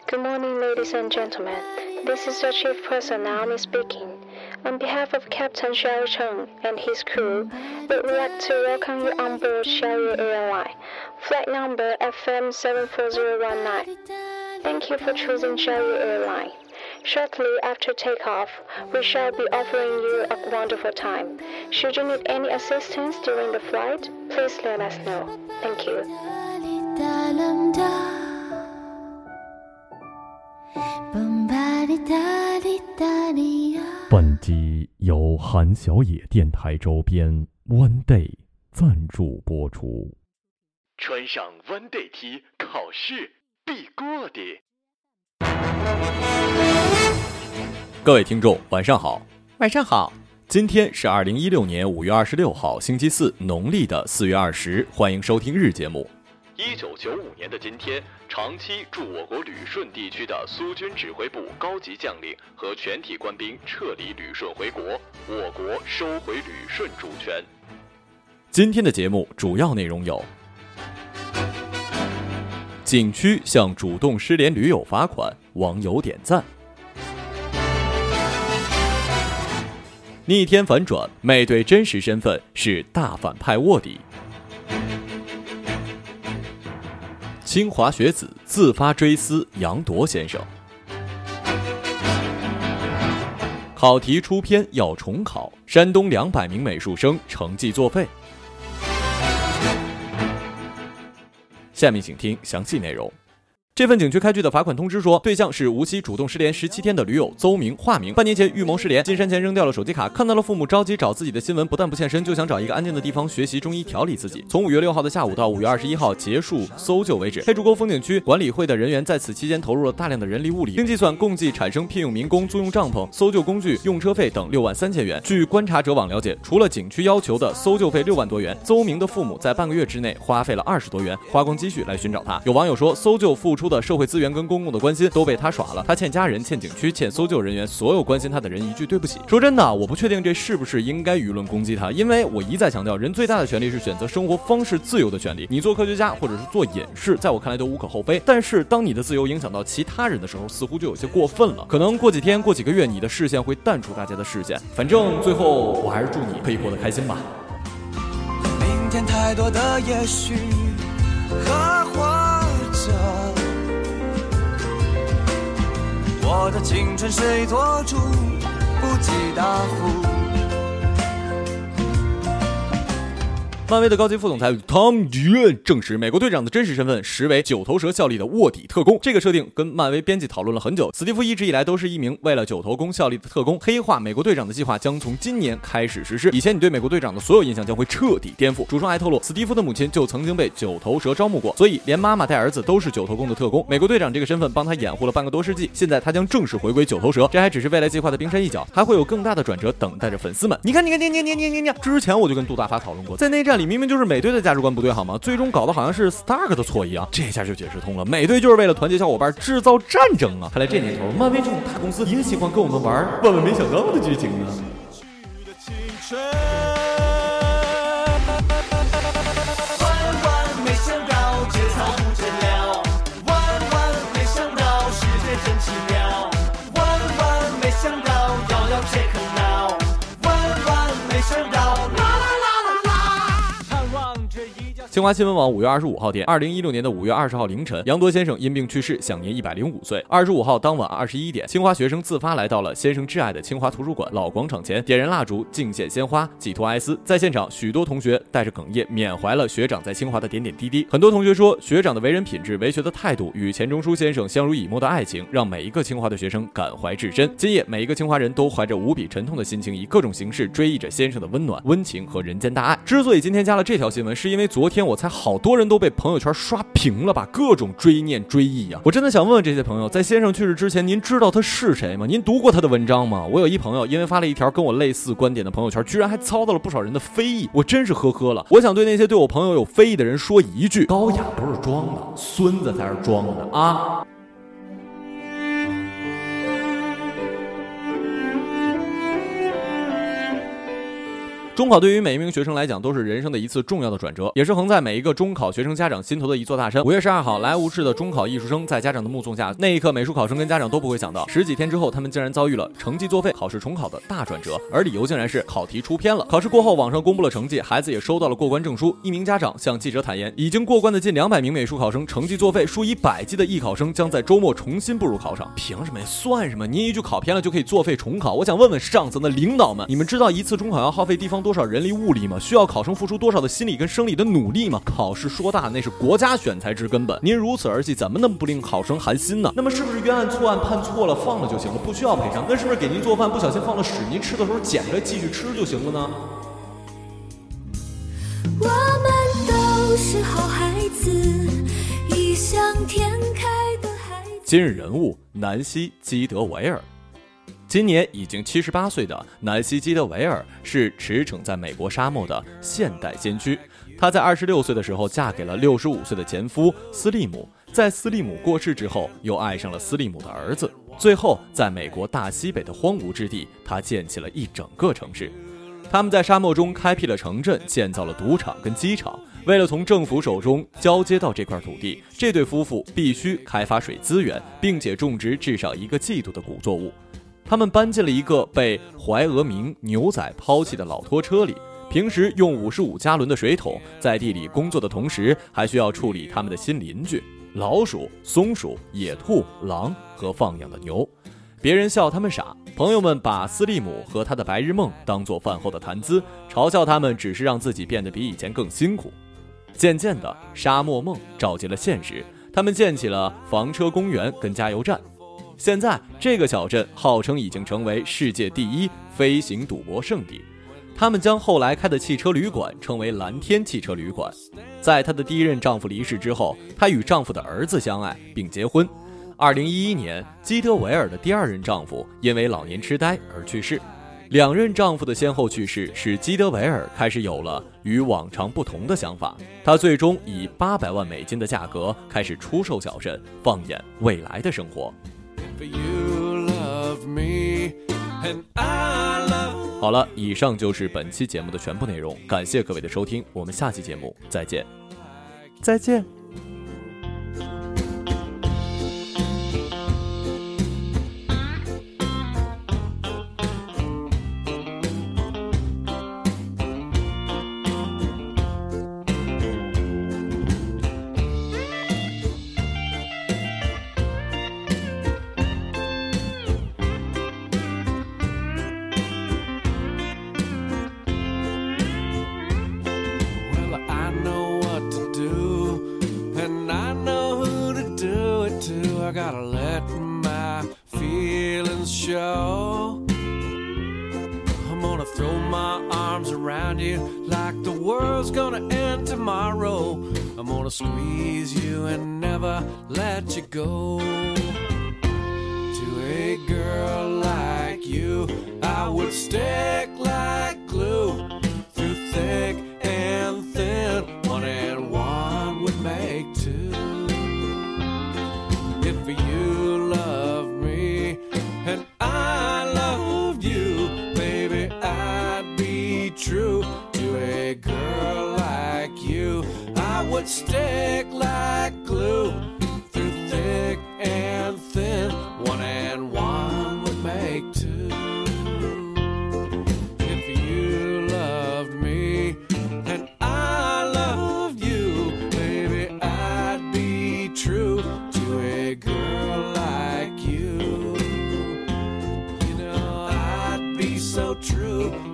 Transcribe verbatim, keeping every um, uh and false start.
Good morning, ladies and gentlemen. This is the Chief Person Naomi speaking. On behalf of Captain Xiao Cheng and his crew, we would like to welcome you on board Xiaoyu Airline, flight number F M seven four zero one nine. Thank you for choosing Xiaoyu Airline. Shortly after takeoff, we shall be offering you a wonderful time. Should you need any assistance during the flight, please let us know. Thank you. 本集由韩小野电台周边 One Day 赞助播出。 穿上 One Day T， 考试必过的。各位听众，晚上好。 晚上好。 今天是二零一六年五月二十六号，星期四，农历的四月二十。欢迎收听日节目。一九九五年的今天，长期驻我国旅顺地区的苏军指挥部高级将领和全体官兵撤离旅顺回国，我国收回旅顺主权。今天的节目主要内容有：景区向主动失联驴友罚款，网友点赞；逆天反转，美队真实身份是大反派卧底；清华学子自发追思杨铎先生；考题出篇要重考，山东两百名美术生成绩作废。下面请听详细内容。这份景区开具的罚款通知说，对象是无锡主动失联十七天的驴友邹明、化名。半年前预谋失联，进山前扔掉了手机卡，看到了父母着急找自己的新闻，不但不现身，就想找一个安静的地方学习中医调理自己。从五月六号的下午到五月二十一号结束搜救为止，黑竹沟风景区管理会的人员在此期间投入了大量的人力物力，经计算共计产生聘用民工、租用帐篷、搜救工具、用车费等六万三千元。据观察者网了解，除了景区要求的搜救费六万多元，邹明的父母在半个月之内花费了二十多元，花光积蓄来寻找他。有网友说，搜救付出的社会资源跟公共的关心都被他耍了，他欠家人、欠景区、欠搜救人员所有关心他的人一句对不起。说真的，我不确定这是不是应该舆论攻击他，因为我一再强调，人最大的权利是选择生活方式自由的权利。你做科学家或者是做隐士，在我看来都无可厚非，但是当你的自由影响到其他人的时候，似乎就有些过分了。可能过几天、过几个月，你的视线会淡出大家的视线。反正最后，我还是祝你可以过得开心吧。 明天太多的也许和或者，我的青春谁做主，不计大户。 漫威的高级副总裁汤迪恩证实，美国队长的真实身份实为九头蛇效力的卧底特工。这个设定跟漫威编辑讨论了很久。史蒂夫一直以来都是一名为了九头公效力的特工。黑化美国队长的计划将从今年开始实施。以前你对美国队长的所有印象将会彻底颠覆。主创还透露，史蒂夫的母亲就曾经被九头蛇招募过，所以连妈妈带儿子都是九头公的特工。美国队长这个身份帮他掩护了半个多世纪，现在他将正式回归九头蛇。这还只是未来计划的冰山一角，还会有更大的转折等待着粉丝们。你看，你看，你你你你你，之前我就跟杜大发讨论过，在内战里明明就是美队的价值观不对好吗？最终搞得好像是 Stark 的错一样，这下就解释通了。美队就是为了团结小伙伴制造战争啊！看来这年头，漫威这种大公司也喜欢跟我们玩万万没想到的剧情呢。 万万没想到，节操不见了；万万没想到，世界真奇妙；万万没想到，遥遥且可恼；万万没想到。 清华新闻网五月二十五号电，二零一六年的五月二十号凌晨，杨铎先生因病去世，享年一百零五岁。二十五号当晚二十一点，清华学生自发来到了先生挚爱的清华图书馆老广场前，点燃蜡烛，敬献鲜花，寄托哀思。在现场，许多同学带着哽咽缅怀了学长在清华的点点滴滴。很多同学说，学长的为人品质、为学的态度与钱钟书先生相濡以沫的爱情，让每一个清华的学生感怀至深。今夜，每一个清华人都怀着无比沉痛的心情，以各种形式追忆着先生的温暖、温情和人间大爱。之所以今天加了这条新闻，是因为昨天我猜好多人都被朋友圈刷屏了吧，各种追念追忆啊！我真的想问问这些朋友，在先生去世之前，您知道他是谁吗？您读过他的文章吗？我有一朋友因为发了一条跟我类似观点的朋友圈，居然还遭到了不少人的非议，我真是呵呵了。我想对那些对我朋友有非议的人说一句：高雅不是装的，孙子才是装的啊！ 中考对于每一名学生来讲都是人生的一次重要的转折，也是横在每一个中考学生家长心头的一座大山。五月十二号，来无市的中考艺术生在家长的目送下，那一刻美术考生跟家长都不会想到，十几天之后他们竟然遭遇了成绩作废、考试重考的大转折，而理由竟然是考题出偏了。考试过后，网上公布了成绩，孩子也收到了过关证书。一名家长向记者坦言，已经过关的近两百名美术考生成绩作废，数以百计的艺考生将在周末重新步入考场。凭什么？算什么？您一句考偏了就可以作废重考？我想问问上层的领导们，你们知道一次中考要耗费地方多少人力物力吗？需要考生付出多少的心理跟生理的努力吗？考试说大那是国家选才之根本，您如此儿戏，怎么能不令考生寒心呢？那么是不是冤案错案判错了放了就行了，不需要赔偿？那是不是给您做饭不小心放了屎，您吃的时候捡着继续吃就行了呢？ 我们都是好孩子，异想天开的孩子。 今日人物：南希·基德维尔。今年已经七十八岁的南希·基德维尔是驰骋在美国沙漠的现代先驱。她在二十六岁的时候嫁给了六十五岁的前夫斯利姆，在斯利姆过世之后，又爱上了斯利姆的儿子。最后，在美国大西北的荒芜之地，她建起了一整个城市。他们在沙漠中开辟了城镇，建造了赌场跟机场。为了从政府手中交接到这块土地，这对夫妇必须开发水资源，并且种植至少一个季度的谷作物。他们搬进了一个被怀俄明牛仔抛弃的老拖车里，平时用五十五加仑的水桶，在地里工作的同时，还需要处理他们的新邻居老鼠、松鼠、野兔、狼和放养的牛。别人笑他们傻，朋友们把斯利姆和他的白日梦当作饭后的谈资，嘲笑他们只是让自己变得比以前更辛苦。渐渐的，沙漠梦照进了现实，他们建起了房车公园跟加油站。现在这个小镇号称已经成为世界第一飞行赌博圣地，他们将后来开的汽车旅馆称为蓝天汽车旅馆。在她的第一任丈夫离世之后，她与丈夫的儿子相爱并结婚。二零一一年，基德维尔的第二任丈夫因为老年痴呆而去世。两任丈夫的先后去世，使基德维尔开始有了与往常不同的想法。她最终以八百万美金的价格开始出售小镇，放眼未来的生活。好了，以上就是本期节目的全部内容，感谢各位的收听，我们下期节目再见。再见。 I gotta let my feelings show. I'm gonna throw my arms around you like the world's gonna end tomorrow. I'm gonna squeeze you and never let you go. To a girl like you, I would stick like glue through thick and thin. One and one would make two.If you love me and I love you, baby, I'd be true to a girl like you. I would stick like glue through thick and thin. One and one would make two. If you loved me and I loved you, baby, I'd be true.To a girl like you, you know I'd be so true.